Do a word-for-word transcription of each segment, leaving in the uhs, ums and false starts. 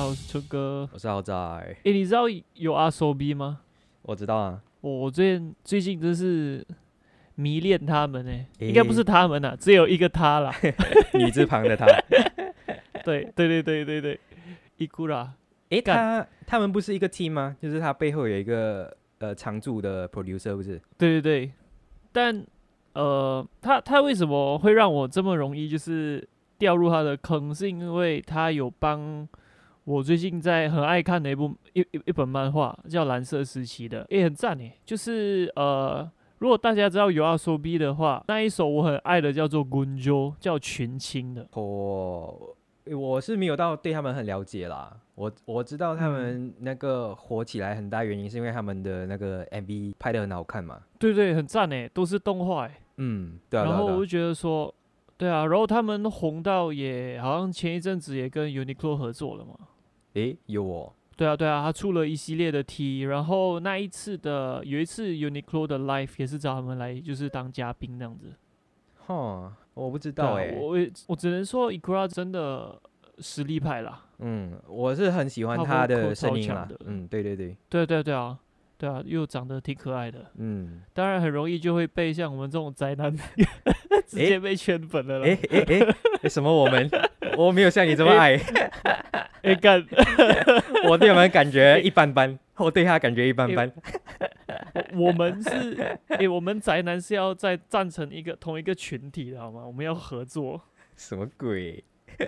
好，我是春哥。 我是豪仔。 诶，你知道有 R S O B 吗？ 我知道啊。 我最近最近真是迷恋他们诶， 诶应该不是他们啊，只有一个他啦。 女字旁的他。 对对对对对对，伊库拉。 诶， 干他他们不是一个 team 吗？就是他背后有一个呃常驻的 producer， 不是？ 对对对，但呃，他他为什么会让我这么容易就是掉入他的坑？是因为他有帮我最近在很爱看的一部一一一本漫画，叫《蓝色时期》的，也、很赞诶。就是呃，如果大家知道有 R S O B 的话，那一首我很爱的叫做《Gunjo》，叫群青的。 哦，我是没有到对他们很了解啦。我我知道他们那个火起来很大原因是因为他们的那个 M V 拍得很好看嘛。 对对，很赞诶，都是动画诶。 嗯，对啊，对然啊，对啊。 后我就觉得说，对啊，然后他们红到也好像前一阵子也跟 Uniqlo 合作了嘛。 诶，有哦。 对啊，对啊，他出了一系列的 T，然后那一次的有一次 Uniqlo 的 Live 也是找他们来，就是当嘉宾那样子。 哈，我不知对啊， 道诶。 我我只能说 Ikura 真的实力派啦， 嗯，我是很喜欢他他 vocal 的声音啦超强的。 嗯，对对对。 对对对啊，对啊，又长得挺可爱的， 嗯。 当然很容易就会被像我们这种宅男直诶接被圈粉了啦。 诶诶诶诶，什么我们？我没有像你这么爱。 哎干， 我对他们感觉一般般，我对他感觉一般般。 我我们是哎、我们宅男是要在站成一个同一个群体的好吗？我们要合作。 什么鬼？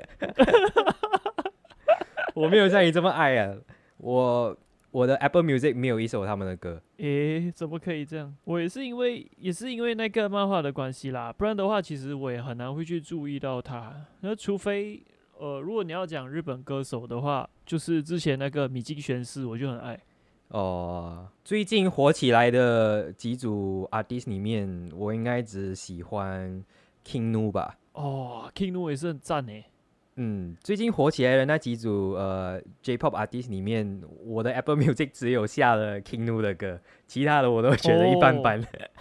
我没有像你这么爱啊。我我的 Apple Music 没有一首他们的歌。 诶，怎么可以这样？我也是因为也是因为那个漫画的关系啦，不然的话，其实我也很难会去注意到他。那除非呃，如果你要讲日本歌手的话，就是之前那个米津玄师，我就很爱。 哦，最近火起来的几组 artist 里面，我应该只喜欢 King Nu 吧。 哦，King Nu 也是很赞诶。 嗯，最近火起来的那几组呃 J-pop artist 里面，我的 Apple Music 只有下了 King Nu 的歌，其他的我都觉得一般般。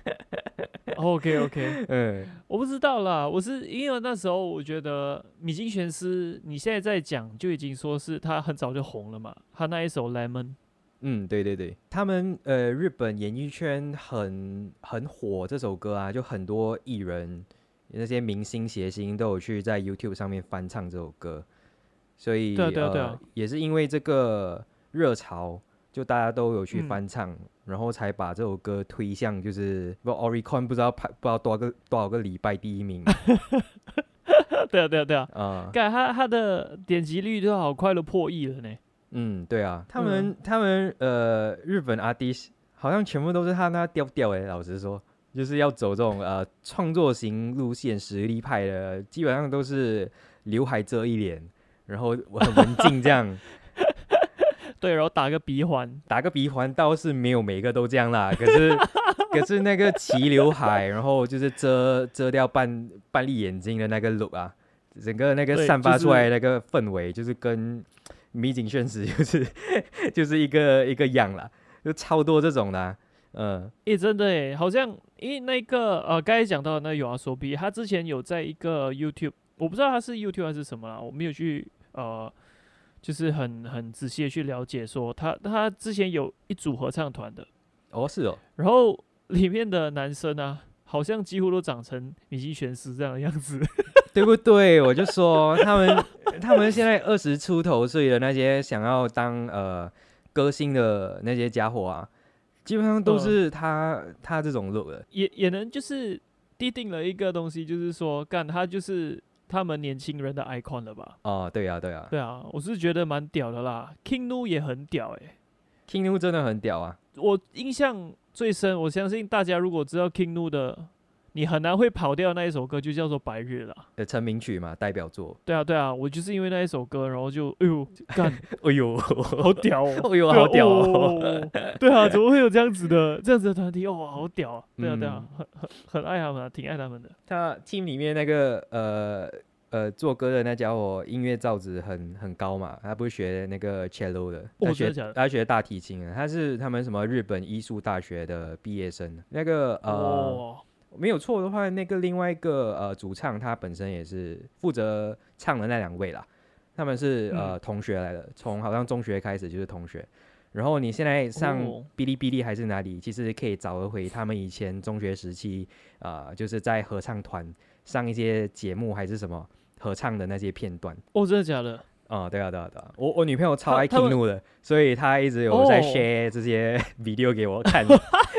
OK OK， 嗯， 我不知道啦，我是因为那时候我觉得米津玄师，你现在在讲就已经说是他很早就红了嘛，他那一首 Lemon。 嗯，对对对，他们呃日本演艺圈很很火这首歌啊，就很多艺人那些明星谐星都有去在 YouTube 上面翻唱这首歌，所以对啊对啊对呃啊， 也是因为这个热潮，就大家都有去嗯， 翻唱，然后才把这首歌推向就是不 Oricon 不知道排不知道多少个多少个礼拜第一名。 对啊对啊对啊， 啊、 感他他的点击率都好快都破亿了呢。 嗯，对啊，他嗯， 们他们呃，日本 artist 好像全部都是他那调调诶，老实说，就是要走这种呃创作型路线、实力派的，基本上都是刘海遮一脸，然后很文静这样。 对，然后打个鼻环。 打个鼻环倒是没有每个都这样啦，可是可是那个齐刘海，然后就是遮遮掉半半粒眼睛的那个 look 啊，整个那个对， 散就是发出来的那个氛围，就是跟米井炫实就是就是一个一个样啦，就超多这种的、啊。嗯。 诶，真的诶，好像诶那个呃，刚才讲到的那有阿索比，他之前有在一个 YouTube，我不知道他是 YouTube 还是什么啦，我没有去呃，就是很很仔细的去了解说他他之前有一组合唱团的， 哦，是哦。 然后里面的男生啊，好像几乎都长成米津玄师这样的样子。 对不对？我就说他们他们现在二十出头岁的那些想要当呃歌星的那些家伙啊，基本上都呃， 是他他这种 look 的。 也也能就是奠定了一个东西，就是说干他就是他们年轻人的 icon 了吧？ 哦，对呀、啊、对呀、啊、 对啊，我是觉得蛮屌的啦，King Nu 也很屌诶、 ，King Nu 真的很屌啊。 我印象最深，我相信大家如果知道 King Nu 的，你很难会跑掉那一首歌，就叫做《白日》啦。 呃，成名曲嘛，代表作。 对啊，对啊，我就是因为那一首歌，然后就哎呦干， 哎呦， 好屌哦！ 哎呦， 对啊， 好屌哦！ 哦，对啊，怎么会有这样子的这样子的团体？哇，好屌啊！对啊，对啊， 嗯， 很很很爱他们啊，挺爱他们的。 他 team 里面那个呃呃做歌的那家伙，音乐造诣很很高嘛，他不是学那个 cello 的，他学哦真的假的他学大提琴的，他是他们什么日本艺术大学的毕业生。那个呃哇， 没有错的话，那个另外一个呃主唱他本身也是负责唱的那两位啦。 他们是、 嗯呃同学来的，从好像中学开始就是同学。然后你现在上哦哔哩哔哩还是哪里，其实可以找得回他们以前中学时期，呃，就是在合唱团上一些节目还是什么合唱的那些片段。 哦，真的假的？ 哦、对啊，对啊，对啊，我我女朋友超爱他他们听怒的，所以她一直有在哦 share 这些 video 给我看。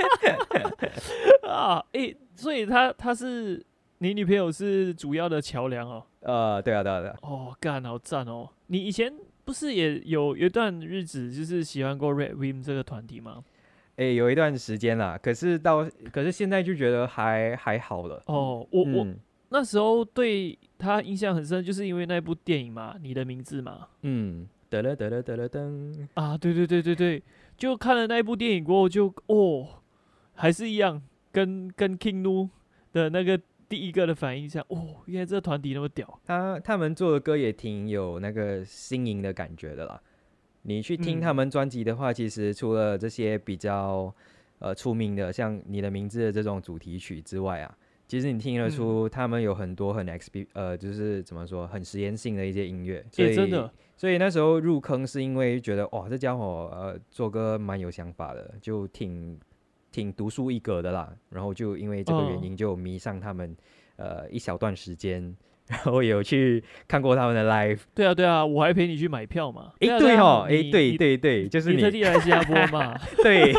啊，诶、所以他他是你女朋友是主要的桥梁哦。 呃，对啊，对啊，对啊， 哦，干，好赞哦！你以前不是也有有一段日子就是喜欢过 Red Wim 这个团体吗？ 诶，有一段时间啦，可是到可是现在就觉得还还好了。 哦，我、我嗯那时候对他印象很深，就是因为那部电影嘛，《你的名字》嘛。 嗯，得了得了得了噔， 啊，对对对对对，就看了那一部电影过后就，哦，还是一样，跟跟 King Nu 的那个第一个的反应像，哦，原来这个团体那么屌。 他他们做的歌也挺有那个新颖的感觉的啦。你去听他嗯们专辑的话，其实除了这些比较呃出名的，像你的名字的这种主题曲之外啊，其实你听得嗯， 出他们有很多很 exp 呃，就是怎么说，很实验性的一些音乐。所也、 以真的， 所以那时候入坑是因为觉得哇，这家伙呃做歌蛮有想法的，就挺挺独树一格的啦。然后就因为这个原嗯， 因，就迷上他们呃一小段时间，然后也有去看过他们的 live。 对啊对啊，我还陪你去买票嘛。 诶， 对啊对啊， 对哦，诶， 你对你对对，就是你特你， 地来新加坡嘛， 对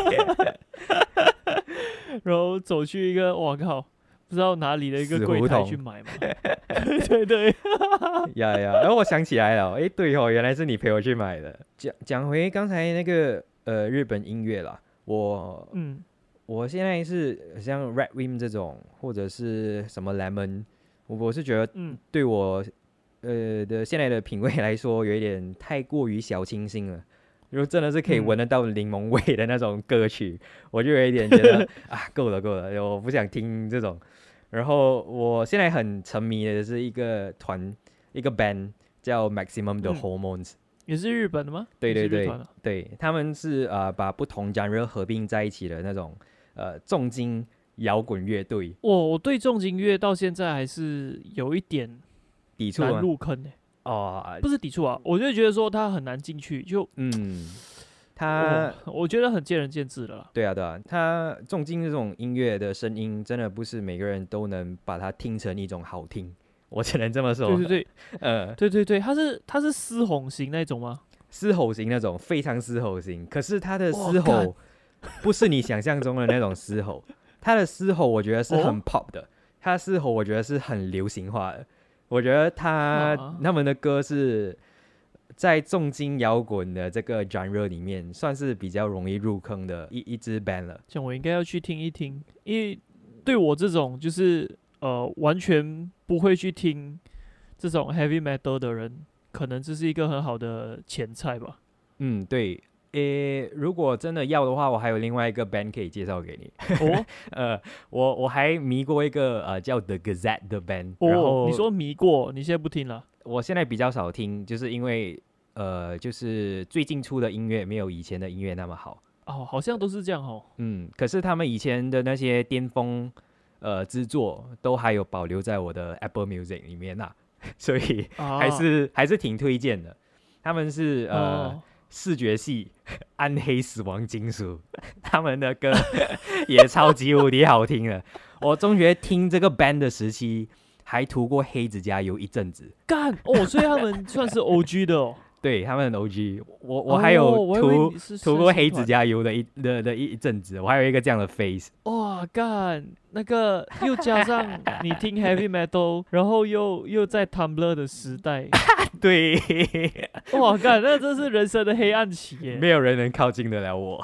然后走去一个我靠不知道哪里的一个死柜台胡同去买嘛。对对对， 呀呀，然后我想起来了，诶，对哦，原来是你陪我去买的。讲讲回刚才那个呃日本音乐啦，我嗯我现在是像 Red Wim 这种，或者是什么 Lemon，我我是觉得嗯， 对我呃的现在的品味来说，有一点太过于小清新了。如果真的是可以嗯闻得到柠檬味的那种歌曲，我就有一点觉得啊，够了够了，我不想听这种。然后我现在很沉迷的是一个团，一个 band 叫 Maximum 的 Hormones，、 也是日本的吗？ 对对对也是日团啊。 对，他们是呃把不同 genre 合并在一起的那种呃重金摇滚乐队。 我我对重金乐到现在还是有一点难抵触吗？ 入坑呢、 哦， 不是抵触啊，我就觉得说它很难进去，就嗯，他哦，我觉得很见仁见智了啦。 对啊对啊，他重金这种音乐的声音，真的不是每个人都能把它听成一种好听，我只能这么说。 对对对呃， 对对对，它是它是嘶吼型那种吗？ 嘶吼型那种，非常嘶吼型。可是他的哇嘶吼不是你想象中的那种嘶吼，他的嘶吼我觉得是很哦 pop 的，他的嘶吼我觉得是很流行化的。我觉得他啊他们的歌是在重金摇滚的这个 genre 里面，算是比较容易入坑的一一支 band 了。 像我应该要去听一听，因为对我这种就是呃完全不会去听这种 heavy metal 的人，可能这是一个很好的前菜吧。 嗯，对。诶，如果真的要的话，我还有另外一个 band 可以介绍给你。 哦呃，我我还迷过一个呃叫 The Gazette 的 band，然哦， 后你说迷过，你现在不听了？ 我现在比较少听，就是因为呃，就是最近出的音乐没有以前的音乐那么好。 哦，好像都是这样哦。 嗯，可是他们以前的那些巅峰呃制作都还有保留在我的 Apple Music 里面呐、所以啊， 还是、还是挺推荐的。他们是呃、 哦视觉系暗黑死亡金属，他们的歌也超级无敌好听的。我中学听这个 band 的时期，还涂过黑指甲油一阵子。 干哦，所以他们算是 O G 的哦。 对，他们的 O G，我我还有哦我以为涂、 你是涂过黑指身心团甲油的一的的一一阵子，我还有一个这样的 face。 哇，干那个又加上你听 heavy metal，然后又又在 Tumblr 的时代， 对， 哇，干那真是人生的黑暗期耶。 没有人能靠近得了我。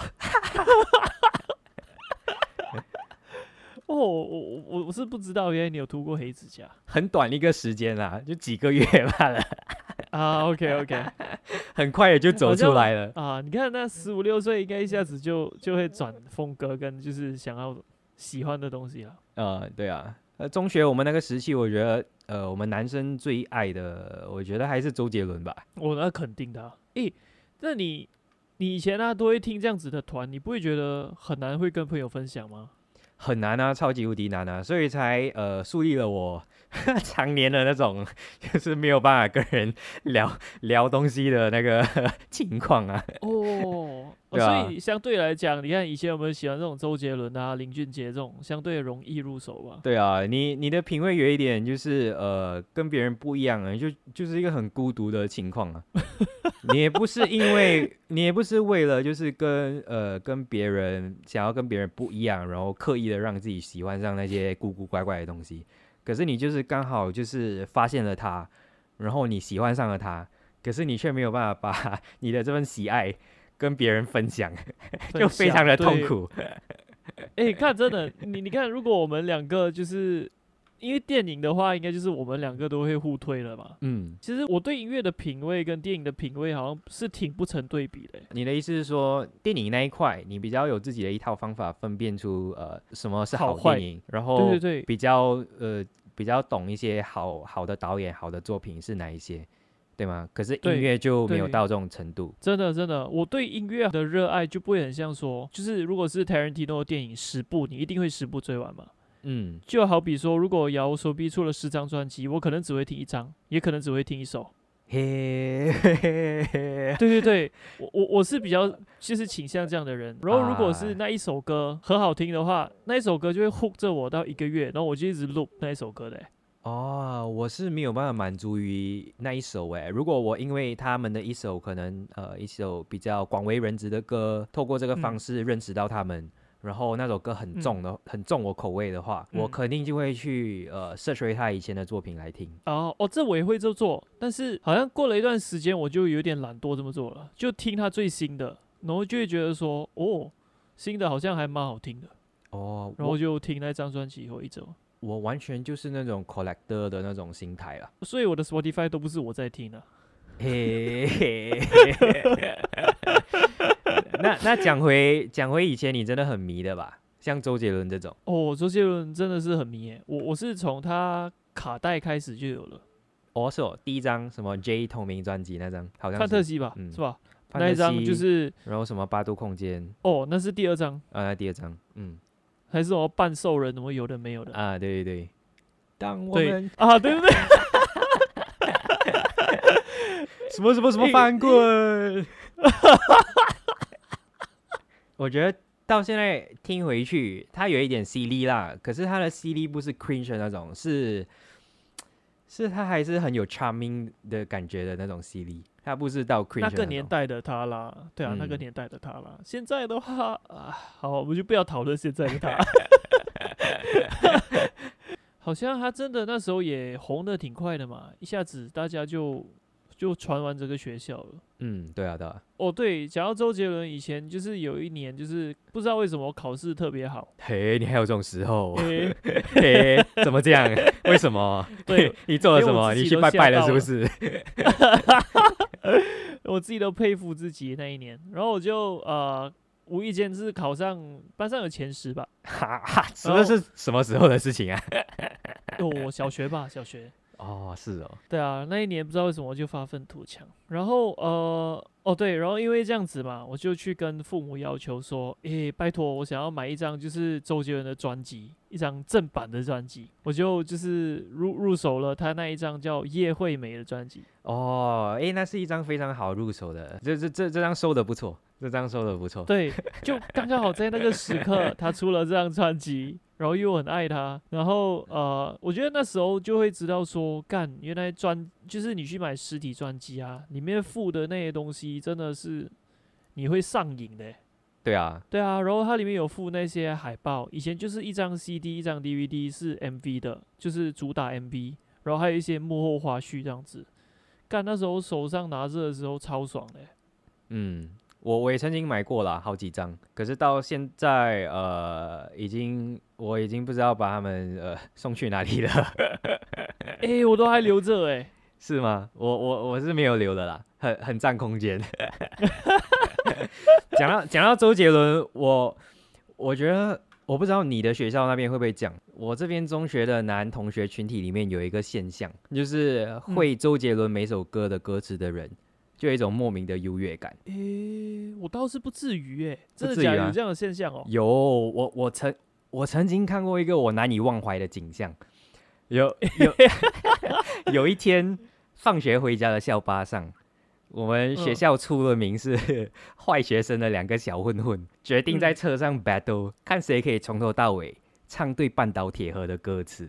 哦，我我我我是不知道，原来你有涂过黑指甲很短一个时间啦，就几个月罢了， 啊？OK OK 很快也就走出来了。 啊，你看那十五六岁应该一下子就就会转风格跟就是想要喜欢的东西了。 呃，对啊，呃，中学我们那个时期，我觉得，呃，我们男生最爱的，我觉得还是周杰伦吧。 我、那肯定的、啊。诶，那你你以前啊都会听这样子的团，你不会觉得很难会跟朋友分享吗？ 很难啊，超级无敌难啊，所以才呃树立了我常年的那种，就是没有办法跟人聊聊东西的那个情况啊。 哦，哦对啊所以相对来讲，你看以前我们喜欢这种周杰伦啊、林俊杰这种，相对容易入手吧？ 对啊，你你的品味有一点就是呃跟别人不一样啊，就就是一个很孤独的情况啊。你也不是因为你也不是为了就是跟呃跟别人想要跟别人不一样，然后刻意的让自己喜欢上那些古古怪怪的东西，可是你就是刚好就是发现了他，然后你喜欢上了他，可是你却没有办法把你的这份喜爱跟别人分享，就非常的痛苦。 哎、欸，看真的，你你看，如果我们两个就是因为电影的话，应该就是我们两个都会互推了嘛。 嗯， 其实我对音乐的品味跟电影的品味好像是挺不成对比的欸。 你的意思是说，电影那一块你比较有自己的一套方法分辨出呃什么是好好坏电影，然后对对对比较呃比较懂一些好好的导演、好的作品是哪一些，对吗？可是音对乐就没有对到这种程度。 真的真的，我对音乐的热爱就不会很像说，就是如果是 Tarantino 的电影十部，你一定会十部追完嘛。 嗯， 就好比说，如果摇手臂出了十张专辑，我可能只会听一张，也可能只会听一首。 嘿，嘿嘿嘿对对对，我我我是比较就是倾向这样的人。然后如果是那一首歌很好听的话，那一首歌就会 hook 着我到一个月，然后我就一直 loop 那一首歌的欸。 哦，我是没有办法满足于那一首诶。如果我因为他们的一首可能呃一首比较广为人知的歌，透过这个方嗯式认识到他们，然后那首歌很重的、很重我口味的话，我嗯肯定就会去呃 search 他以前的作品来听。 哦哦，这我也会这么做，但是好像过了一段时间，我就有点懒惰这么做了，就听他最新的，然后就会觉得说，哦，新的好像还蛮好听的， 哦， 然后就听那张专辑后一周。 我我完全就是那种 collector 的那种心态啦。 所以我的 Spotify 都不是我在听的。 嘿嘿嘿，那那讲回讲回以前你真的很迷的吧？像周杰伦这种。 哦，周杰伦真的是很迷耶，我我是从他卡带开始就有了， 哦，是哦，第一张什么 J 同名专辑那张，好像是， 范特西吧， 嗯是吧？ 范特那一张西就是然后什么八度空间哦，那是第二张， 啊，那第二张，嗯还是什么半兽人，什么有的没有的。 啊，对对对，当我对们啊，对对对， 什么什么什么翻滚，我觉得到现在听回去，它有一点犀利啦，可是它的犀利不是 cringe 的那种，是是它还是很有 charming 的感觉的那种犀利，它不是到 cringe 那个的种年代的他啦，对啊， 嗯那个年代的他啦。现在的话啊，好，我们就不要讨论现在的他。好像他真的那时候也红的挺快的嘛，一下子大家就就传完这个学校了。 嗯，对啊对啊， 哦，对，讲到周杰伦，以前就是有一年，就是不知道为什么考试特别好。 嘿，你还有这种时候， 诶、 嘿，怎么这样？为什么？ 对， 你做了什么？ 连我自己你去拜拜了都吓到是不是？ 我自己都佩服自己那一年，然后我就呃无意间是考上班上有前十吧。 哈哈，这是什么时候的事情啊？ 哦，小学吧，小学。 哦，是哦， 对啊，那一年不知道为什么就发愤图强，然后呃，哦对，然后因为这样子嘛，我就去跟父母要求说，诶，拜托，我想要买一张就是周杰伦的专辑，一张正版的专辑，我就就是入入手了他那一张叫《叶惠美》的专辑。 哦，诶，那是一张非常好入手的，这这这这张收的不错，这张收的不错。 对，就刚刚好在那个时刻，他出了这张专辑，然后又很爱他，然后呃，我觉得那时候就会知道说，干，原来专就是你去买实体专辑啊，里面附的那些东西真的是你会上瘾的欸。 对啊， 对啊，然后它里面有附那些海报，以前就是一张 C D 一张 D V D 是 M V 的，就是主打 M V，然后还有一些幕后花絮这样子。干，那时候手上拿着的时候超爽的欸。 嗯，我我也曾经买过啦，好几张，可是到现在呃，已经我已经不知道把它们呃送去哪里了， 哎、欸，我都还留着哎。 是吗？我我我是没有留的啦，很很占空间。讲到讲到周杰伦，我我觉得我不知道你的学校那边会不会讲，我这边中学的男同学群体里面有一个现象，就是会周杰伦每首歌的歌词的人，就有一种莫名的优越感。 诶、欸，我倒是不至于诶，真的不至于啊假的？有这样的现象哦、 有，我我曾我曾经看过一个我难以忘怀的景象， 有有有一天放学回家的校巴上，我们学校出了名是坏学生的两个小混混，决定在车上 battle，、嗯、看谁可以从头到尾唱对半岛铁盒的歌词。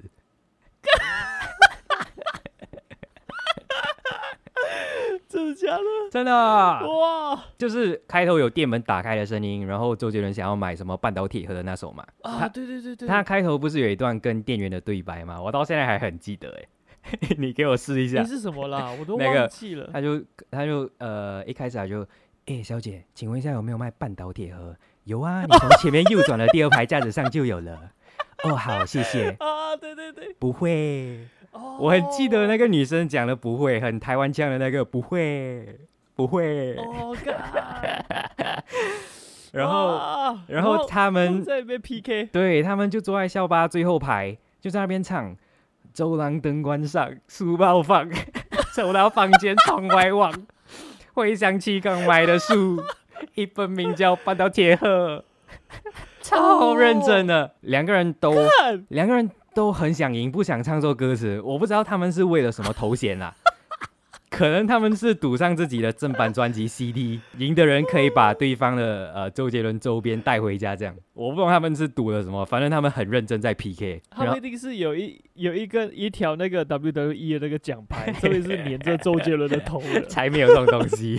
真的假的？ 真的哇！就是开头有店门打开的声音，然后周杰伦想要买什么半岛铁盒的那首嘛。 啊，对对对对。 他开头不是有一段跟店员的对白吗？我到现在还很记得哎。你给我试一下。 你是什么啦？我都忘记了。 那个、他就他就呃一开始他就，哎、欸、小姐，请问一下有没有卖半岛铁盒？有啊，你从前面右转的第二排架子上就有了。哦，好，谢谢。 啊，对对对。 不会。Oh. 我很记得那个女生讲的不会，很台湾腔的那个不会，不会。哦、oh, 然后，然后他们在那边 P K， 对他们就坐在校巴最后排，就在那边唱。走廊灯关上，书包放，走到房间窗外望，回想起刚买的书，一本名叫《半岛铁盒》，超认真的，两、oh. 个人都，两个人。都很想赢，不想唱错歌词。我不知道他们是为了什么头衔啊？可能他们是赌上自己的正版专辑 C D， 赢的人可以把对方的呃周杰伦周边带回家，这样。我不知道他们是赌了什么，反正他们很认真在 P K。 他们一定是有一有一个一条那个 W W E 的那个奖牌，这边是粘着周杰伦的头的， 才没有这种东西。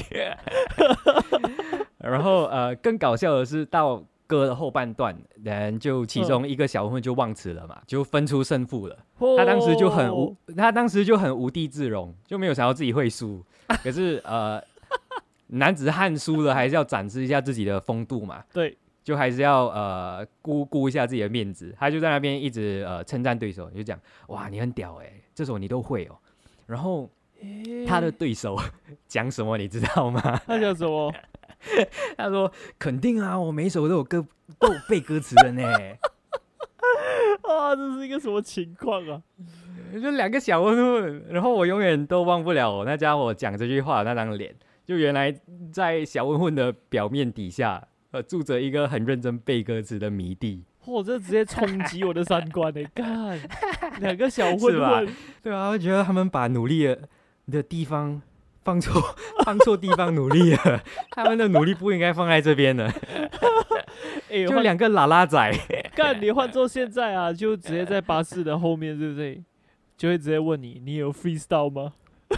然后呃，更搞笑的是到。歌的后半段，人就其中一个小混混就忘词了嘛，嗯、就分出胜负了。他当时就很无，他当时就很无地自容，就没有想到自己会输。可是呃，男子汉输了还是要展示一下自己的风度嘛。 对， 就还是要呃顾顾一下自己的面子。他就在那边一直呃称赞对手，就讲哇你很屌哎、欸，这首你都会哦。然后、欸、他的对手讲什么你知道吗？ 他讲什么？ 他说：“肯定啊，我每一首都有歌，都有背歌词的呢。” 啊，这是一个什么情况啊？ 就两个小混混，然后我永远都忘不了我那家伙讲这句话的那张脸。就原来在小混混的表面底下，呃，住着一个很认真背歌词的迷弟。 我、哦、这直接冲击我的三观哎！干，两个小混混， 对啊，我觉得他们把努力的的地方。放错放错地方努力了，他们的努力不应该放在这边的。欸、就两个喇喇仔， 干你换做现在啊，就直接在巴士的后面，对不对？就会直接问你，你有 freestyle 吗？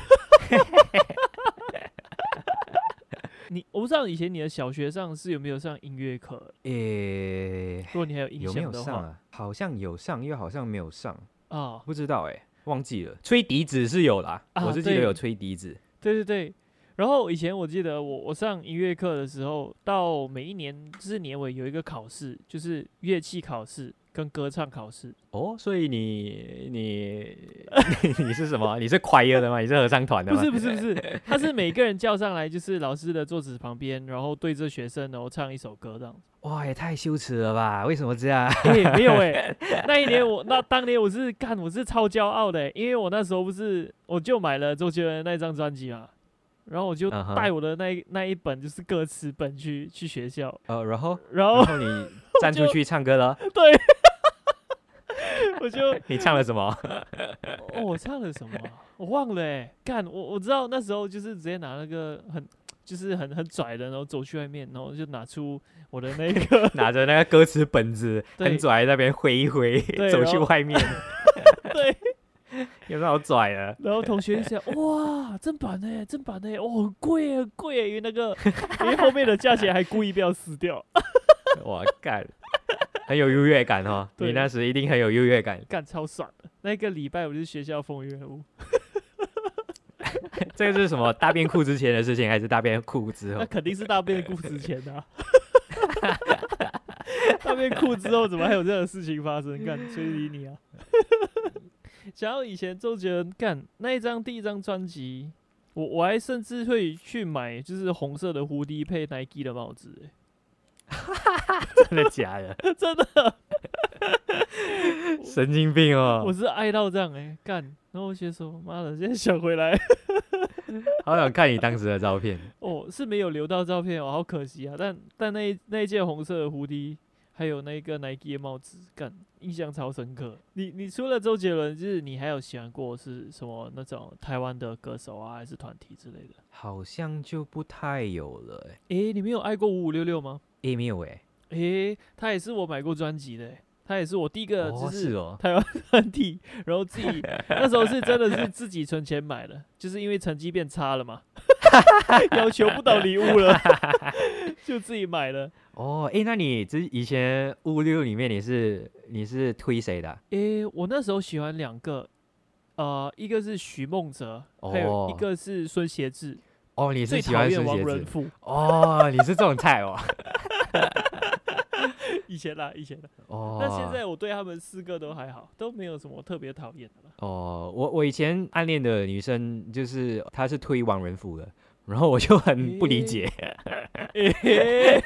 你我不知道以前你的小学上是有没有上音乐课？诶、欸，如果你还有印象的话， 有没有上啊？好像有上，又好像没有上啊， 不知道哎、欸，忘记了。吹笛子是有啦，啊、我是记得有吹笛子。 对对对，然后以前我记得我我上音乐课的时候，到每一年就是年尾有一个考试，就是乐器考试跟歌唱考试。 哦，所以你你你是什么？你是 choir 的吗？你是合唱团的吗？ 不是不是不是，他是每个人叫上来，就是老师的桌子旁边，然后对着学生，然后唱一首歌这样子。 哇，也太羞耻了吧？为什么这样？ 哎、欸，没有哎、欸，那一年我那当年我是干，我是超骄傲的、欸，因为我那时候不是我就买了周杰伦那张专辑嘛，然后我就带我的那一、uh huh. 那一本就是歌词本去去学校， 呃，然后然后然后你站出去唱歌了， 对，我就你唱了什么？ 哦，我唱了什么、啊？我忘了哎、欸，干我我知道那时候就是直接拿那个很。就是很很拽的，然后走去外面，然后就拿出我的那个拿着那个歌词本子，很拽在那边挥一挥，走去外面。 对， 有什么好拽的？ 然后同学就讲：“哇，正版的，正版的，哦，很贵很贵，因为那个因为后面的价钱还故意不要撕掉。” 哇，干，很有优越感哦！你那时一定很有优越感， 干超爽的。那个礼拜我就是学校风云人物。 这个是什么？大便裤之前的事情，还是大便裤之后？ 那肯定是大便裤之前的、啊。大便裤之后怎么还有这样的事情发生？干，谁理你啊？想要以前周杰伦干那一张第一张专辑，我我还甚至会去买，就是红色的蝴蝶配 Nike 的帽子、欸。 真的假的？ 真的。 神经病哦！ 我是爱到这样哎、欸，干，然后我先说，妈的，现在想回来， 好想看你当时的照片。 哦，是没有留到照片哦，好可惜啊。但但那一那一件红色的蝴蝶，还有那个 Nike 的帽子，干， 印象超深刻。你你除了周杰伦，就是你还有喜欢过是什么那种台湾的歌手啊，还是团体之类的？ 好像就不太有了哎、 诶、你没有爱过五五六六吗？ 欸，没有哎、 诶、他也是我买过专辑的、欸，他也是我第一个就哦是哦， 台湾团体，然后自己那时候是真的是自己存钱买的，就是因为成绩变差了嘛，要求不到礼物了，就自己买了。 哦，哎、那你之以前五六里面你是你是推谁的啊、 诶、我那时候喜欢两个，呃，一个是徐梦哲，还有一哦个是孙协志， 哦，你是最喜欢讨厌王孙协志仁富。 哦，你是这种菜哦。 以前啦，以前啦。 哦， 那现在我对他们四个都还好，都没有什么特别讨厌的了。 哦，我我以前暗恋的女生就是她是推王仁甫的，然后我就很不理解。 嘿嘿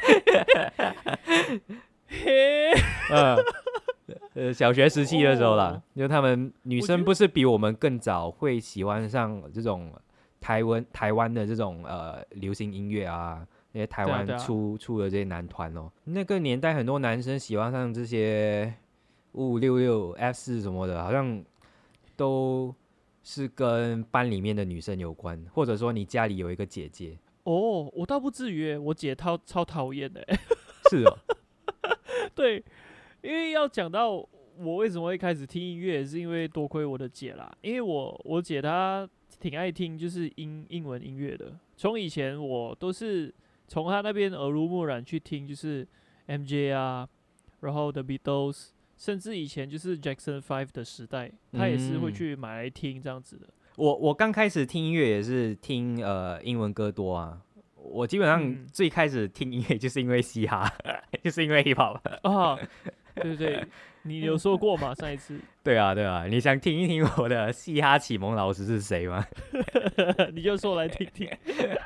嘿， 呃呃，小学时期的时候啦， 哦就他们女我觉得生不是比我们更早会喜欢上这种台湾台湾的这种呃流行音乐啊，那些台湾对啊对啊出、出的这些男团哦，那个年代很多男生喜欢上这些五五六六 F 四什么的，好像都是跟班里面的女生有关，或者说你家里有一个姐姐， 哦，我倒不至于耶，我姐超超讨厌的耶。 是哦， 对，因为要讲到我为什么会开始听音乐，是因为多亏我的姐啦。因为我我姐她挺爱听就是英英文音乐的，从以前我都是从她那边耳濡目染去听，就是 M J 啊，然后 The Beatles，甚至以前就是 Jackson Five 的时代，她也是会嗯去买来听这样子的。 我我刚开始听音乐也是听呃英文歌多啊。我基本上嗯最开始听音乐就是因为嘻哈，就是因为 hip hop。 啊，对对对，你有说过嘛？上一次对啊，对啊，你想听一听我的嘻哈启蒙老师是谁吗？ 你就说来听听。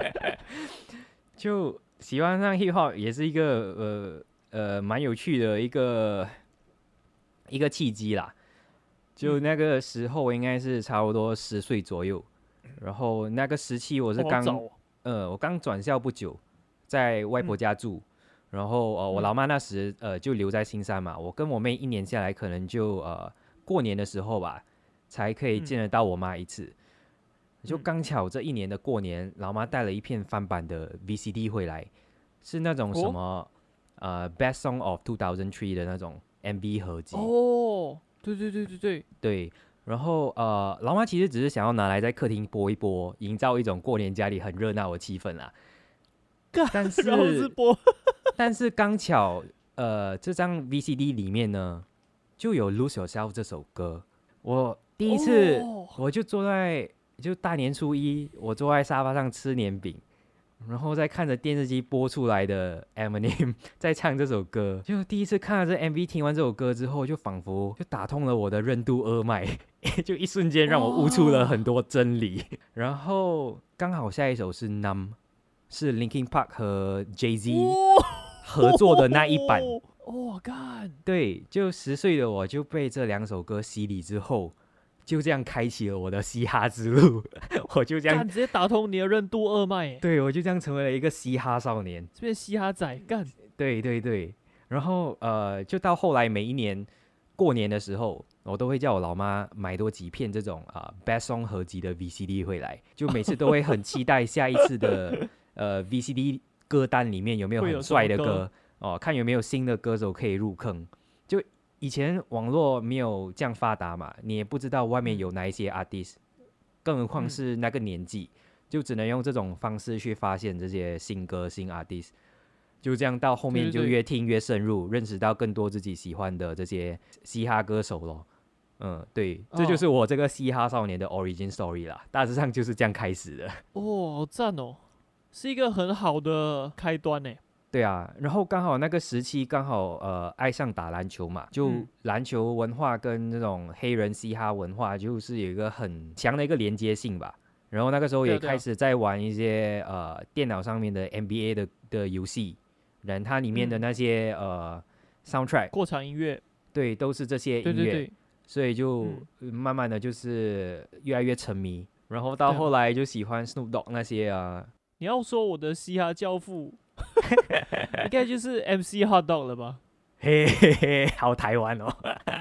就喜欢上 hip hop 也是一个呃呃蛮有趣的一个一个契机啦。就嗯那个时候我应该是差不多十岁左右，然后那个时期我是刚、 哦好早哦呃，我刚转校不久，在外婆嗯家住，然后呃，我嗯老妈那时呃就留在新山嘛，我跟我妹一年下来，可能就呃过年的时候吧，才可以嗯见得到我妈一次。就嗯刚巧这一年的过年，老妈带了一片翻版的 V C D 回来，是那种什哦么、呃 Best Song of two thousand three 的那种 M V 合集。 哦，对对对对对， 对，然后呃，老妈其实只是想要拿来在客厅播一播，营造一种过年家里很热闹的气氛啦。 干但然后是是播但是刚巧呃，这张 V C D 里面呢，就有《Lose Yourself》这首歌。我第一次， 哦我就坐在就大年初一，我坐在沙发上吃年饼，然后再看着电视机播出来的 Eminem 在唱这首歌，就第一次看了这 M V， 听完这首歌之后，就仿佛就打通了我的任督二脉，就一瞬间让我悟出了很多真理。然后刚好下一首是 Numb， 是 Linkin Park 和 Jay-Z 哦合作的那一版。 哦，干， 对，就十岁的我就被这两首歌洗礼之后，就这样开启了我的嘻哈之路。我就这样干直接打通你的任督二脉耶， 对，我就这样成为了一个嘻哈少年。 这边嘻哈仔干， 对对对，然后呃，就到后来每一年过年的时候，我都会叫我老妈买多几片这种啊、呃、Best Song 合集的 V C D 回来，就每次都会很期待下一次的呃 V C D 歌单里面有没有会有很帅的什么歌歌哦，看有没有新的歌手可以入坑。就以前网络没有这样发达嘛，你也不知道外面嗯有哪一些 artist，、更何况嗯是那个年纪，就只能用这种方式去发现这些新歌新 artist。就这样到后面就对对对越听越深入，认识到更多自己喜欢的这些嘻哈歌手咯。嗯，对，这就哦是我这个嘻哈少年的 origin story 啦，大致上就是这样开始的。 哦，好赞哦，是一个很好的开端呢。 对啊，然后刚好那个时期刚好呃爱上打篮球嘛，就嗯篮球文化跟那种黑人嘻哈文化就是有一个很强的一个连接性吧。然后那个时候对啊对啊也开始在玩一些呃电脑上面的 N B A 的的游戏，然后它里面的嗯那些、呃 soundtrack， 过场音乐， 对，都是这些音乐， 对对对， 所以就、 嗯呃慢慢的就是越来越沉迷，然后到对啊后来就喜欢 Snoop Dogg 那些啊， 你要说我的嘻哈教父，应该就是 M C Hot Dog 了吧？ 嘿嘿嘿，好台湾哦。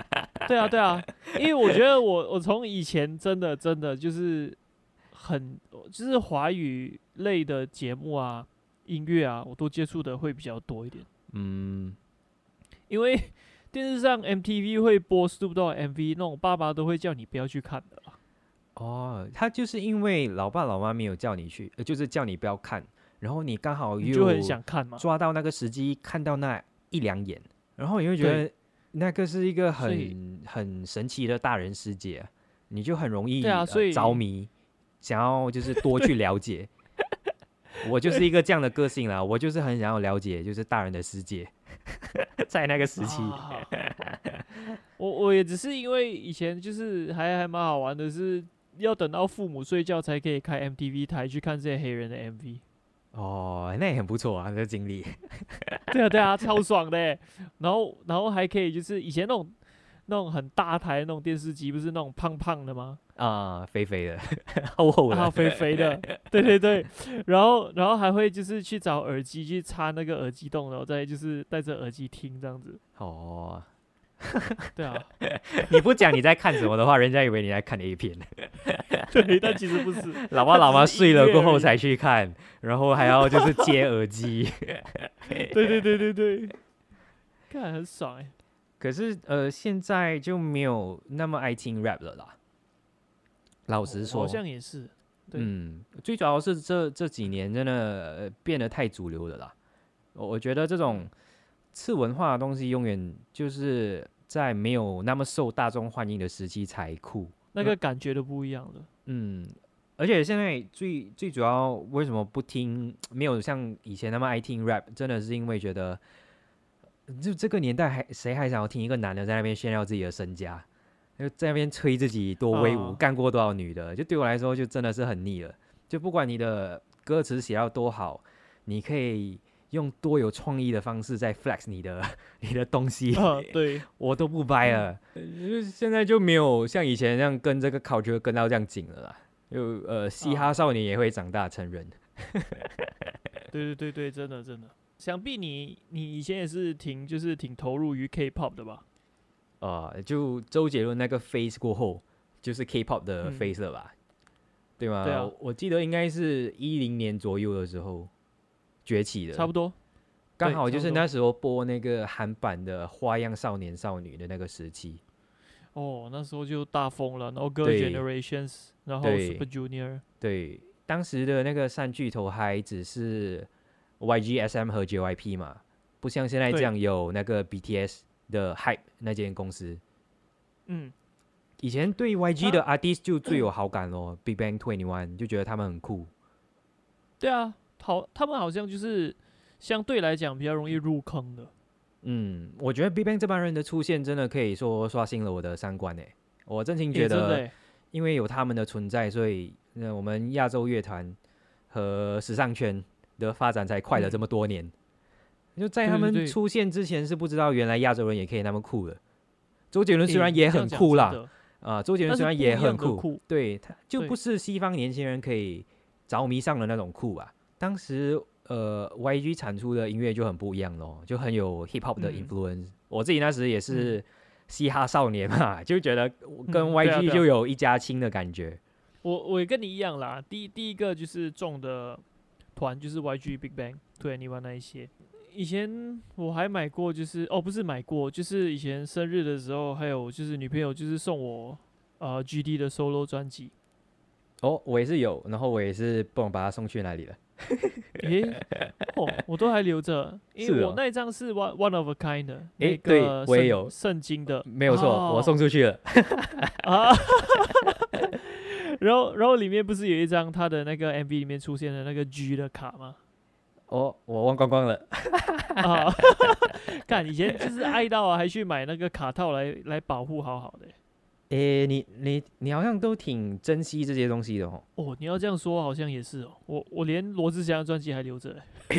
对啊，对啊，因为我觉得我我从以前真的真的就是很就是华语类的节目啊、音乐啊，我都接触的会比较多一点。 嗯， 因为电视上 M T V 会播 Snoop Dogg 的 M V，那种爸爸都会叫你不要去看的啦。 哦，他就是因为老爸老妈没有叫你去，呃就是叫你不要看，然后你刚好你就很又想看嘛。 抓到那个时机，看到那一两眼，然后你会觉得那个是一个所以很很神奇的大人世界啊，你就很容易对啊， 呃所以着迷，想要就是多去了解。我就是一个这样的个性啦，我就是很想要了解，就是大人的世界，在那个时期。 啊我我也只是因为以前就是还还蛮好玩的是，要等到父母睡觉才可以开 M T V 台去看这些黑人的 M V。 哦，那也很不错啊，这个经历。 对啊对啊，超爽的欸。然后然后还可以就是以前那种那种很大台的那种电视机，不是那种胖胖的吗？ 啊、肥肥的，厚厚的， 然后肥肥的，对对对，然后然后还会就是去找耳机去插那个耳机洞，然后再就是戴着耳机听这样子。 哦， 对啊， 你不讲你在看什么的话，人家以为你在看 A 片。 对，但其实不是， 老爸老妈睡了过后它才去看，然后还要就是接耳机。 只是音乐而已。对对对对对，看很爽哎。 可是呃，现在就没有那么爱听 rap 了啦。老实说， 好像也是。对嗯，最主要是这这几年真的、呃、变得太主流了啦。我我觉得这种次文化的东西，永远就是在没有那么受大众欢迎的时期才酷。 那个感觉都不一样了。 嗯，而且现在最最主要为什么不听，没有像以前那么爱听 rap， 真的是因为觉得，就这个年代还谁还想要听一个男的在那边炫耀自己的身家，就在那边吹自己多威武， 啊干过多少女的，就对我来说就真的是很腻了。就不管你的歌词写到多好，你可以用多有创意的方式在 flex 你的你的东西， 啊，对， 我都不掰了。就是现在就没有像以前那样跟这个 culture 跟到这样紧了啦。就呃，嘻哈少年也会长大成人。 对对对对，真的真的。想必你你以前也是挺就是挺投入于 K-pop 的吧？ 呃，就周杰伦那个 phase 过后，就是 K-pop 的嗯 phase 了吧？对吗？ 对啊我记得应该是一零年左右的时候崛起的， 差不多。 刚好就是差不多那时候播那个韩版的《花样少年少女》的那个时期。 哦，那时候就大疯了，然后 Girl 对 Generations，然后对 Super Junior。 对，当时的那个三巨头还只是 Y G S M 和 J Y P 嘛，不像现在这对样有那个 B T S 的 Hype 那间公司。 嗯， 以前对 Y G 的 artist 就最有好感咯，Big Bang Twenty One 就觉得他们很酷。 对啊，好，他们好像就是相对来讲比较容易入坑的。 嗯，我觉得 Big Bang 这帮人的出现真的可以说刷新了我的三观诶。我真心觉得， 欸真的欸因为有他们的存在，所以那我们亚洲乐团和时尚圈的发展才快了这么多年。就在他们对对对出现之前，是不知道原来亚洲人也可以那么酷的。周杰伦虽然欸也这样讲很酷啦， 真的啊，周杰伦但是虽然也不一样的很酷， 酷对，他就对不是西方年轻人可以着迷上的那种酷啊。当时呃 Y G 产出的音乐就很不一样咯，就很有 hip hop 的嗯 influence。我自己那时也是嘻哈少年嘛，就觉得跟嗯对啊 Y G 对啊就有一家亲的感觉。 我我也跟你一样啦。第一第一个就是中的团就是 Y G、Big Bang、Twenty One 那一些。以前我还买过，就是哦，不是买过，就是以前生日的时候，还有就是女朋友就是送我呃 G D 的 solo 专辑。 哦，我也是有，然后我也是不懂把它送去哪里了。 诶，哦，我都还留着，因为是哦我那一张是 one one of a kind 的，那诶对个圣我也有圣经的， 没有错， 哦我送出去了。 啊。然后然后里面不是有一张他的那个 M V 里面出现的那个 G 的卡吗？ 哦，我忘光光了。 啊，看以前就是爱到啊，还去买那个卡套来来保护好好的。 诶，你你你好像都挺珍惜这些东西的哦。 哦，你要这样说好像也是哦，我我连罗志祥的专辑还留着欸。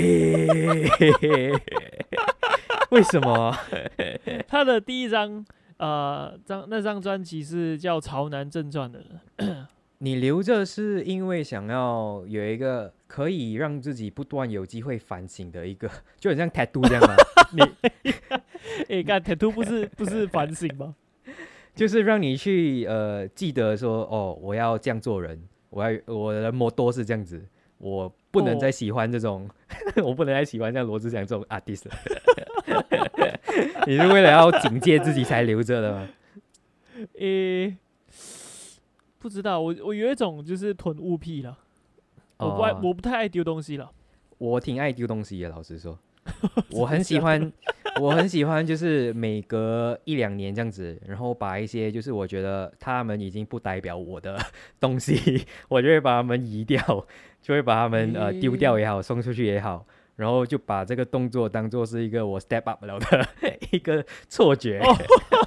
为什么？ 他的第一张呃张那张专辑是叫《潮男正传》的。 你留着是因为想要有一个可以让自己不断有机会反省的一个，就很像 tattoo 这样吗？你哎，看 tattoo 不是不是反省吗？ 就是让你去呃记得说，哦，我要这样做人，我要我的摩多是这样子，我不能再喜欢这种，哦、我不能再喜欢像罗志祥这种 artist 了。你是为了要警戒自己才留着的吗？ 诶、欸，不知道，我我有一种就是囤物癖了，我不爱、哦、我不太爱丢东西了。 我挺爱丢东西的，老实说，我很喜欢，我很喜欢，就是每隔一两年这样子，然后把一些就是我觉得他们已经不代表我的东西，我就会把他们移掉，就会把他们、欸、呃丢掉也好，送出去也好。然后就把这个动作当做是一个我 step up 了的一个错觉。哦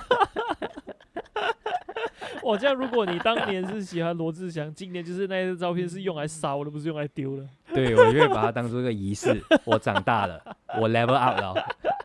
哇，这样如果你当年是喜欢罗志祥，今年就是那些照片是用来烧的，不是用来丢的。 对，我就会把它当做一个仪式。我长大了，我 level up 了。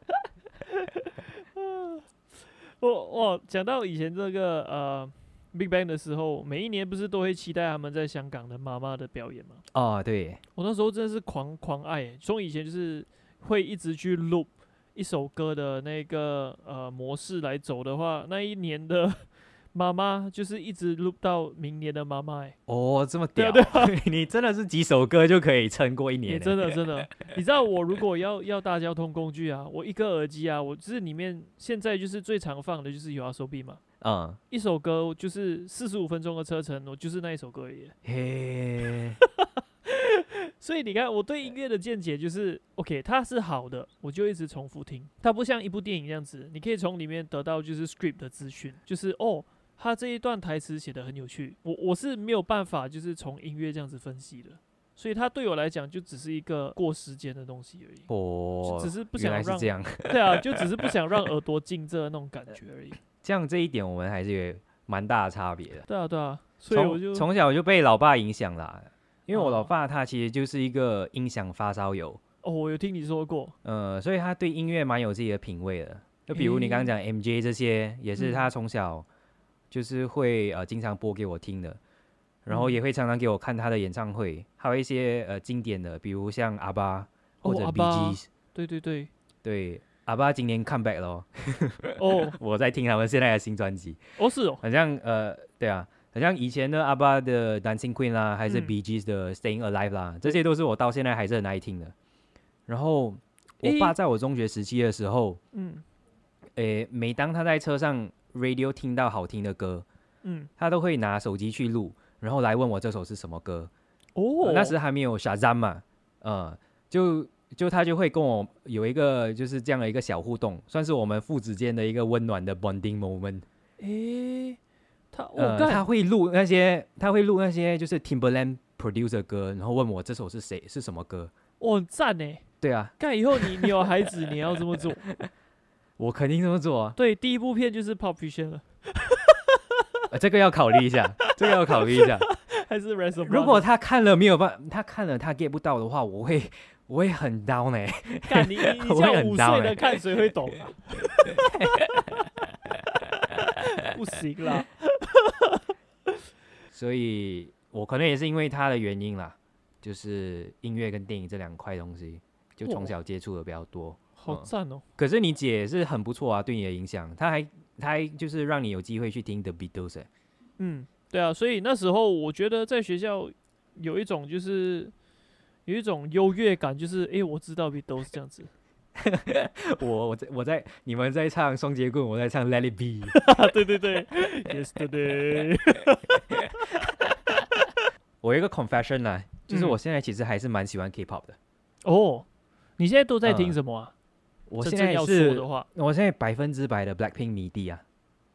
我哇，讲到以前这个呃 Big Bang 的时候，每一年不是都会期待他们在香港的妈妈的表演吗？ 哦，对， 我那时候真的是狂狂爱，从以前就是会一直去 loop 一首歌的那个呃模式来走的话，那一年的妈妈就是一直 loop 到明年的妈妈。哎， 哦，这么屌！ 对啊对啊你真的是几首歌就可以撑过一年？ 真的真的，你知道我如果要要搭交通工具啊，我一个耳机啊，我就是里面现在就是最常放的就是有 YOASOBI 嘛。嗯，一首歌就是四十五分钟的车程，我就是那一首歌而已。嘿，所以你看，我对音乐的见解就是 ，OK， 它是好的，我就一直重复听。它不像一部电影这样子，你可以从里面得到就是 script 的资讯，就是哦，它这一段台词写得很有趣。我我是没有办法就是从音乐这样子分析的，所以它对我来讲就只是一个过时间的东西而已。哦，只是不想让， 原来是这样。 对啊，就只是不想让耳朵进这那种感觉而已。 这样这一点我们还是有蛮大的差别的。 对啊对啊，所以我就从小就被老爸影响啦，因为我老爸他其实就是一个音响发烧友。 哦，我有听你说过。 呃，所以他对音乐蛮有自己的品味的。就比如你刚刚讲 M J 这些，也是他从小就是会呃经常播给我听的，然后也会常常给我看他的演唱会，还有一些呃经典的，比如像阿爸或者 B G。 对对对对。阿爸今年 comeback 咯。 哦， 我在听他们现在的新专辑。 哦，是哦， 好像呃，对啊，好像以前的阿爸的 Dancing Queen 啦，还是 B G 的 Staying Alive 啦，嗯、这些都是我到现在还是很爱听的。然后我爸在我中学时期的时候，嗯，诶，每当他在车上 radio 听到好听的歌，嗯，他都会拿手机去录，然后来问我这首是什么歌。哦，呃、那时还没有 Shazam 嘛，呃，就。就他就会跟我有一个就是这样的一个小互动，算是我们父子间的一个温暖的 bonding moment。 诶，他呃他会录那些他会录那些就是 Timbaland produce 的歌，然后问我这首是谁是什么歌。 哦，很赞呢。 对啊， 干以后你你有孩子你要这么做。 我肯定这么做啊。 对，第一部片就是 Pulp Fiction 了。 呃、这个要考虑一下，这个要考虑一下。 还是 Rest of 如果他看了没有办法，他看了他 get 不到的话，我会。我会很 down 哎、欸， 看你你你叫五岁的看谁会懂啊？不行啦。 所以我可能也是因为他的原因啦，就是音乐跟电影这两块东西，就从小接触的比较多。哦、 好赞哦、嗯！ 可是你姐是很不错啊，对你的影响，她还她还就是让你有机会去听 The Beatles、欸。 嗯，对啊，所以那时候我觉得在学校有一种就是。有一种优越感，就是哎、欸，我知道 Beatles 这样子。 我我在我在你们在唱双截棍，我在唱 Let It Be。 对对对 ，Yesterday。 我有一个 confession 啦，就是我现在其实还是蛮喜欢 K-pop 的。 哦，你现在都在听什么啊？呃、 我现在是的话，我现在百分之百的 Blackpink 迷弟啊。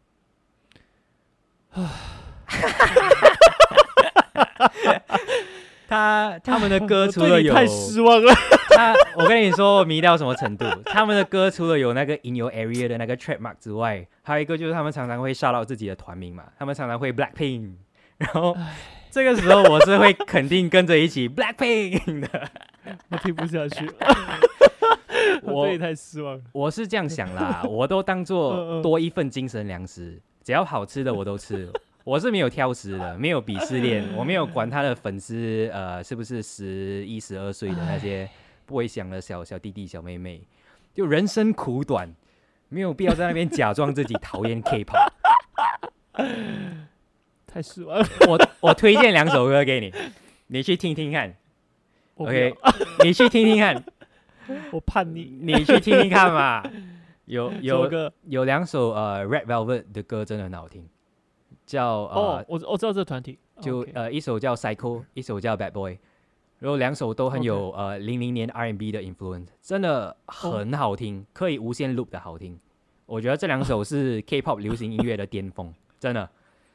他他们的歌除了有太失望了。 他我跟你说，我迷到什么程度？他们的歌除了有那个 In Your Area 的那个 trademark 之外，还有一个就是他们常常会 shout out 自己的团名嘛，他们常常会 Blackpink， 然后这个时候我是会肯定跟着一起 Blackpink 的。 我听不下去。我对你太失望了。 我是这样想啦，我都当做多一份精神粮食，只要好吃的我都吃。我是没有挑食的，没有鄙视链，我没有管他的粉丝呃是不是十一十二岁的那些不会想的小小弟弟小妹妹，就人生苦短，没有必要在那边假装自己讨厌 K-pop。 太失望了。 我我推荐两首歌给你，你去听听看。 我不 OK， 要你去听听看， 我叛逆。 你去听听看嘛。有什么有歌？ 有两首呃 Red Velvet 的歌真的很好听，叫呃、 哦，我我知道这个团体， 就 OK 呃一首叫 Psycho， 一首叫 Bad Boy， 然后两首都很有呃零零年 R and B 的 influence， 真的很好听，可以无限 loop 的好听。我觉得这两首是 K-pop 流行音乐的巅峰，真的。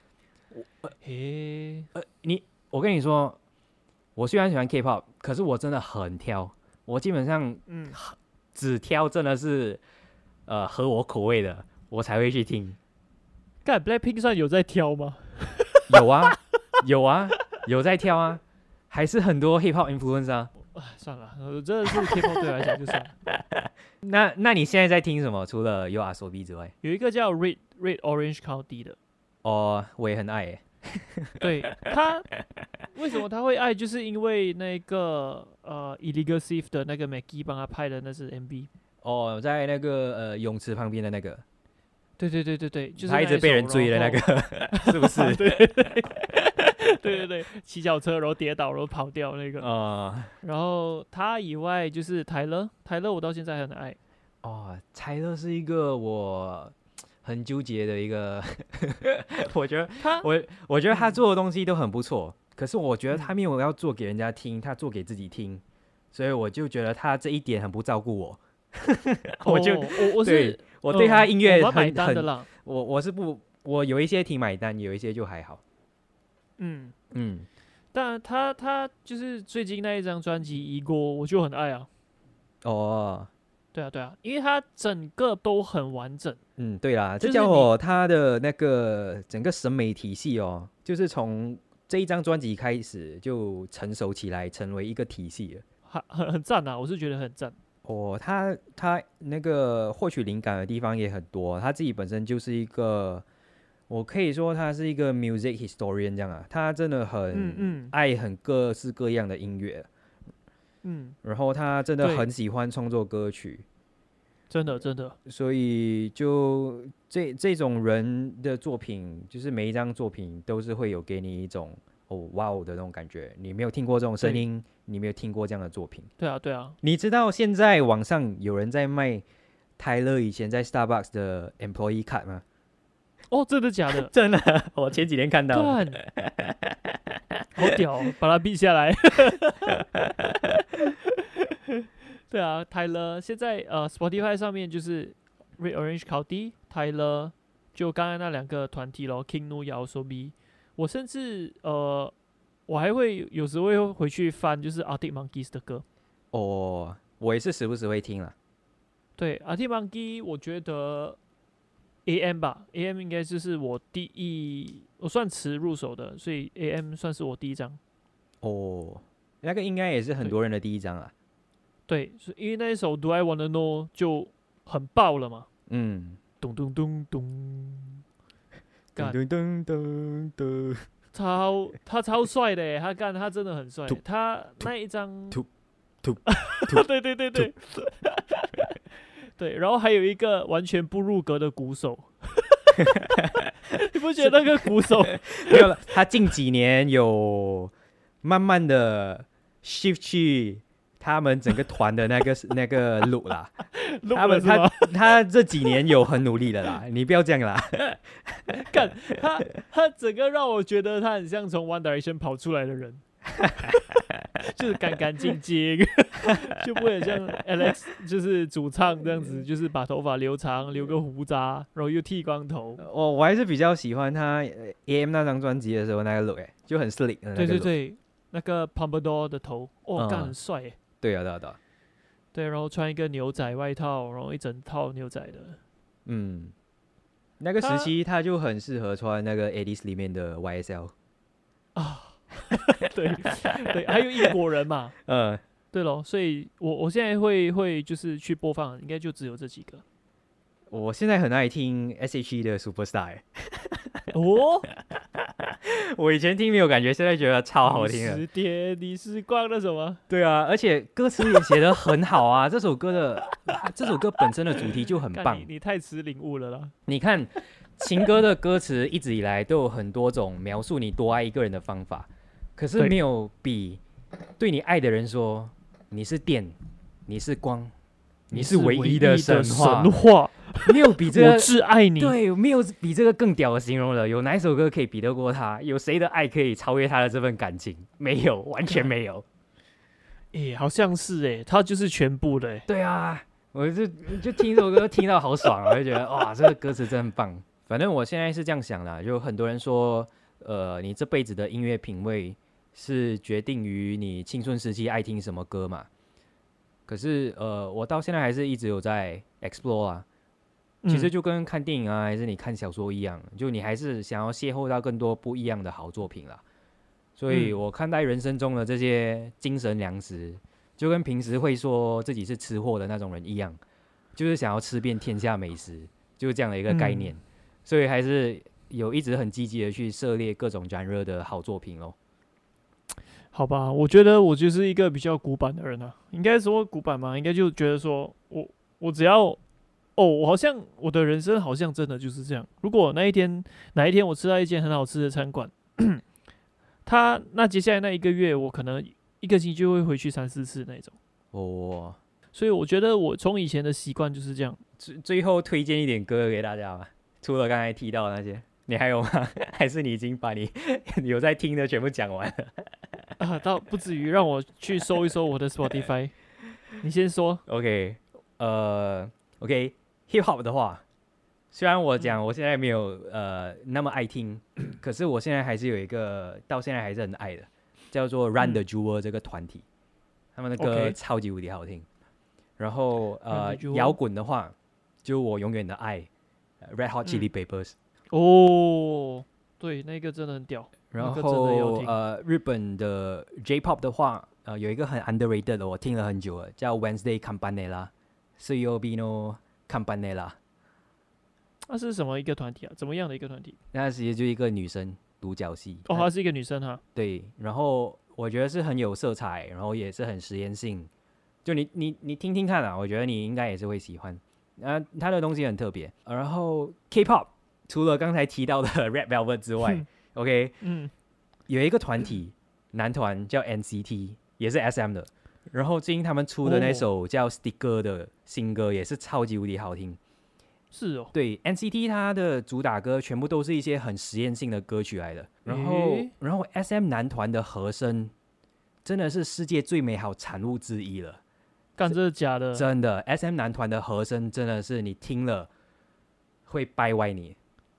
嘿， 呃，你我跟你说，我虽然喜欢 K-pop， 可是我真的很挑，我基本上嗯， 只挑真的是呃合我口味的，我才会去听。 干 Blackpink 算有在挑吗？ 有啊，有啊，有在挑啊，还是很多 hip hop influence 啊。 哎，算了，我真的是 K-pop 对我来讲就算了。 那那你现在在听什么？除了 U R S O B 之外？ 有一个叫 Red Red Orange County 的， 哦，我也很爱耶。 对他为什么他会爱，就是因为那个呃 Illegal Thief 的那个 Maggie 帮他拍的那是 M V。 哦，在那个呃泳池旁边的那个， 对对对对对，就是他一直被人追的那个，是不是？ 对对对对对对，骑脚车然后跌倒然后跑掉那个。 哦然后他以外就是泰勒，泰勒我到现在很爱。 哦，泰勒是一个我很纠结的一个，我觉得他我我觉得他做的东西都很不错，可是我觉得嗯他没有要做给人家听，他做给自己听，所以我就觉得他这一点很不照顾我。我就哦我我对是我对他音乐嗯我蛮买很很， 单的啦。 我我是不，我有一些挺买单，有一些就还好。 嗯， 嗯， 但他他就是最近那一张专辑《一锅》，我就很爱啊。 哦， 对啊对啊，因为它整个都很完整。 嗯，对啦，这就是家伙他的那个整个审美体系哦，就是从这一张专辑开始就成熟起来，成为一个体系了。 很很很赞啊，我是觉得很赞。 哦，他他那个获取灵感的地方也很多，他自己本身就是一个，我可以说他是一个 music historian 这样啊，他真的嗯很嗯爱很各式各样的音乐， 嗯， 然后他真的对很喜欢创作歌曲， 真的真的， 所以就这这种人的作品，就是每一张作品都是会有给你一种哦哇哦的那种感觉。你没有听过这种声音，你没有听过这样的作品。 对啊对啊。 你知道现在网上有人在卖泰勒以前在 Starbucks 的 employee card 吗？ 哦，真的假的？ 真的，我前几天看到。 干，好屌哦，把它比下来。对啊，Tyler 现在呃 Spotify 上面就是 Red Orange County、Tyler，就刚刚那两个团体咯 ，King Nu、y a o s o b i 我甚至呃，我还会有时会回去翻，就是 Arctic Monkeys 的歌。 哦，我也是时不时会听啦。 对 Arctic Monkey，我觉得 A M 吧，A M 应该就是我第一，我算迟入手的，所以 A M 算是我第一张。 哦，那个应该也是很多人的第一张啊。 对，是因为那一首 Do I Wanna Know 就很爆了嘛， 嗯， 咚咚咚咚，干噔噔噔噔， 超他超帅的耶，他干他真的很帅突， 他那一张， 突突对对对对，对，然后还有一个完全不入格的鼓手，你不觉得那个鼓手没有了，他近几年有慢慢的 shift 去他们整个团的那个那个路啦。 录他们他了是吗？ 他这几年有很努力的啦，你不要这样啦。 干他他整个让我觉得他很像从 One Direction 跑出来的人，就是干干净净，就不会很像 Alex 就是主唱这样子，就是把头发留长，留个胡渣，然后又剃光头。 我我还是比较喜欢他呃 A M 那张专辑的时候那个 look 哎，就很 slick 的那个 look。 对对对，那个 Pompadour 的头，哦，干、 嗯很帅耶。 对啊对啊对啊， 对，然后穿一个牛仔外套，然后一整套牛仔的。 嗯，那个时他期他就很适合穿那个 Alice 里面的 Y S L。 对对，还有英国人嘛。 嗯， 对咯，所以我我现在会会就是去播放，应该就只有这几个。 我现在很爱听 S H E 的 Superstar 欸。 哦， 我以前听没有感觉，现在觉得超好听的。 十点你是逛那什么？ 对啊，而且歌词也写得很好啊。这首歌的这首歌本身的主题就很棒干你。你太迟领悟了啦。 你看情歌的歌词一直以来都有很多种描述你多爱一个人的方法，可是没有比对你爱的人说你是电，你是光，你是唯一的神话， 神话没有比这个我挚爱你。 对，没有比这个更屌的形容了。有哪一首歌可以比得过他？有谁的爱可以超越他的这份感情？没有，完全没有。 诶、欸，好像是诶、欸，他就是全部的诶、欸。 对啊，我就就听这首歌听到好爽啊，我就觉得哇，这个歌词真很棒。反正我现在是这样想啦，就很多人说，呃，你这辈子的音乐品味是决定于你青春时期爱听什么歌嘛。可是呃，我到现在还是一直有在 explore 啊。其实就跟看电影啊，还是你看小说一样，就你还是想要邂逅到更多不一样的好作品啦。所以我看待人生中的这些精神粮食，就跟平时会说自己是吃货的那种人一样，就是想要吃遍天下美食，就是这样的一个概念。嗯、所以还是有一直很积极的去涉猎各种genre的好作品咯。 好吧，我觉得我就是一个比较古板的人啊，应该说古板嘛，应该就觉得说我我只要。哦，我好像我的人生好像真的就是这样。如果那一天哪一天我吃到一间很好吃的餐馆，他那接下来那一个月，我可能一个星期就会回去三四次那种。 哦， 所以我觉得我从以前的习惯就是这样。 最最后推荐一点歌给大家吧，除了刚才提到的那些，你还有吗？还是你已经把你有在听的全部讲完了？ 啊，倒不至于让我去搜一搜我的 Spotify。你先说。 OK， 呃 ，OK。Hip Hop 的话，虽然我讲我现在没有呃那么爱听，可是我现在还是有一个到现在还是很爱的，叫做 Run the Jewel 这个团体，他们的歌超级无敌好听。然后呃摇滚的话，就我永远的爱 Red Hot Chili Peppers。 哦，对，那个真的很屌。 然后呃日本的 J-Pop 的话，呃有一个很 underrated 的，我听了很久了，叫 Wednesday Campanella Suyobino Campanella。 那是什么一个团体啊？怎么样的一个团体？ 那其实就一个女生独角戏。 哦，她是一个女生哈。 对，然后我觉得是很有色彩，然后也是很实验性。就你你你听听看啊，我觉得你应该也是会喜欢。啊，她的东西很特别。然后 K-pop 除了刚才提到的 Red Velvet 之外，OK， 嗯，有一个团体男团叫 N C T， 也是 S M 的。然后最近他们出的那首叫 Sticker 的新歌也是超级无敌好听。 是哦。 对 N C T 它的主打歌全部都是一些很实验性的歌曲来的。然后、欸、然后 S M 男团的和声真的是世界最美好产物之一了。 干，这是假的？ 真的 S M 男团的和声真的是你听了会掰歪你。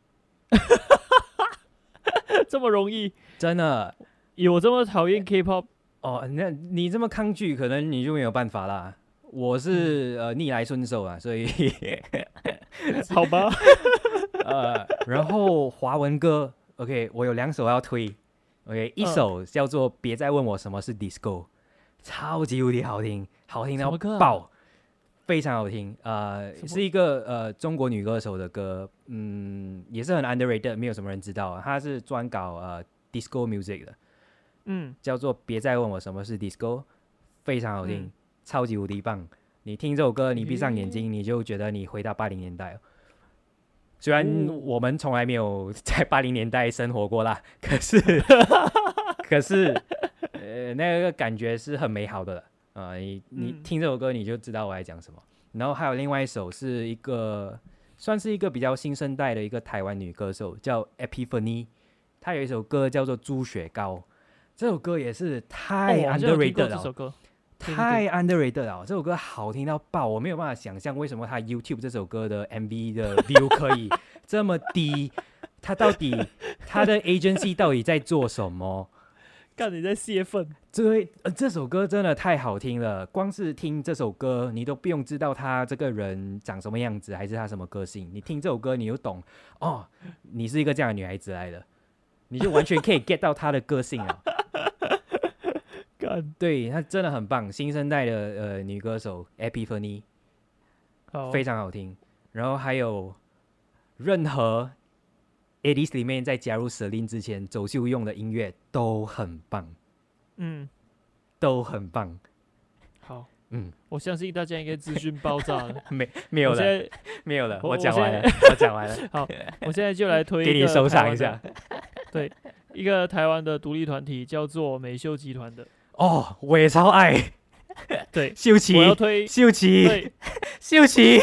这么容易？ 真的？ 有这么讨厌 K-pop？ 哦，那你这么抗拒，可能你就没有办法啦。我是、嗯、呃逆来顺受啊，所以好吧。 呃，然后华文歌 ，OK， 我有两首要推 ，OK， 一首叫做《别再问我什么是 Disco》，超级无敌好听，好听到爆，啊、非常好听。呃，是一个呃中国女歌手的歌，嗯，也是很 underrated， 没有什么人知道。她是专搞呃 Disco music 的。嗯，叫做别再问我什么是 disco， 非常好听、嗯、超级无敌棒。你听这首歌，你闭上眼睛、欸、你就觉得你回到八零年代、哦、虽然我们从来没有在八零年代生活过啦，可是可是呃那个感觉是很美好的了、呃、你你听这首歌你就知道我在讲什么、嗯、然后还有另外一首是一个算是一个比较新生代的一个台湾女歌手叫 Epiphany， 她有一首歌叫做猪血糕，这首歌也是太 underrated 了、哦、 这首歌太 underrated 了，这首歌好听到爆，我没有办法想象为什么他 YouTube 这首歌的 M V 的 view 可以这么低，他到底他的 agency 到底在做什么？ 干，你在泄愤？ 这、呃、这首歌真的太好听了，光是听这首歌你都不用知道他这个人长什么样子还是他什么个性，你听这首歌你就懂哦，你是一个这样的女孩子来的，你就完全可以 get 到他的个性了。对，她真的很棒，新生代的呃女歌手 Epiphany， 非常好听。然后还有任何 eighties 里面在加入 Celine 之前走秀用的音乐都很棒，嗯，都很棒。 好， 嗯， 我相信大家应该资讯爆炸了。 没没有了， 我现在没有了， 我我讲完了， 我我讲完了， 好，我现在就来推一个给你收台湾的藏一下。 对，一个台湾的独立团体叫做美秀集团的。 哦，我也超爱对， 秀琪我，要推秀琪， 对秀琪，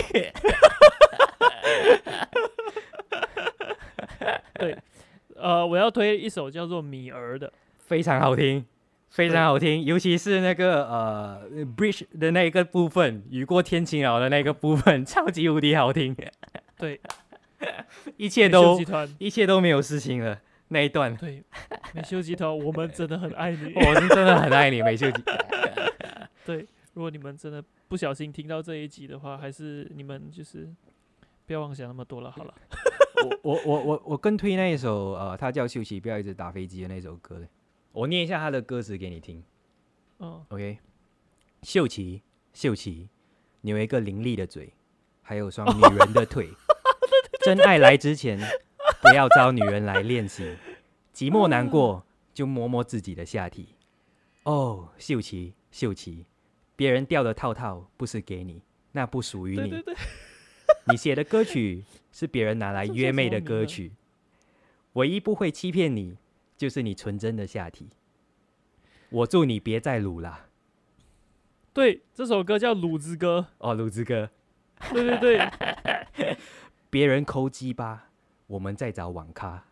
对，呃，我要推一首叫做《米儿》的。 非常好听，非常好听，尤其是那个呃 bridge 的那个部分，雨过天晴了的那个部分，超级无敌好听。 对， 一切美秀都集团。 一切都没有事情了。那一段， 对，美秀集团，我们真的很爱你。 我是真的很爱你，美秀吉。 对，如果你们真的不小心听到这一集的话，还是你们就是不要妄想那么多了。好了， 我我我我我更推那一首呃，他叫秀琪，不要一直打飞机的那首歌嘞。我念一下他的歌词给你听。 嗯， OK， 秀琪，秀琪，你有一个伶俐的嘴，还有双女人的腿。真爱来之前，不要招女人来练习。寂寞难过，就摸摸自己的下体。哦，秀琪，秀琪，别人掉的套套不是给你，那不属于你。 对对对， 你写的歌曲是别人拿来约妹的歌曲，唯一不会欺骗你，就是你纯真的下体。我祝你别再撸啦。 对，这首歌叫《鲁之歌哦，鲁之歌。》。 对对对， 别人抠鸡巴，我们在找网咖。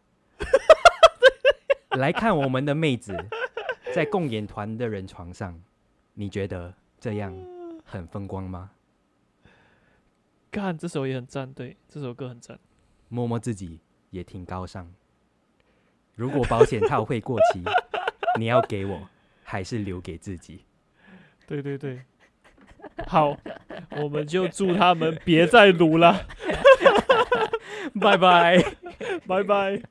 来看我们的妹子在共演团的人床上，你觉得这样很风光吗？ 看这首也很赞，对，这首歌很赞。 摸摸自己也挺高尚。如果保险套会过期，你要给我，还是留给自己？ 对对对，好，我们就祝他们别再撸了， 拜拜。 拜拜。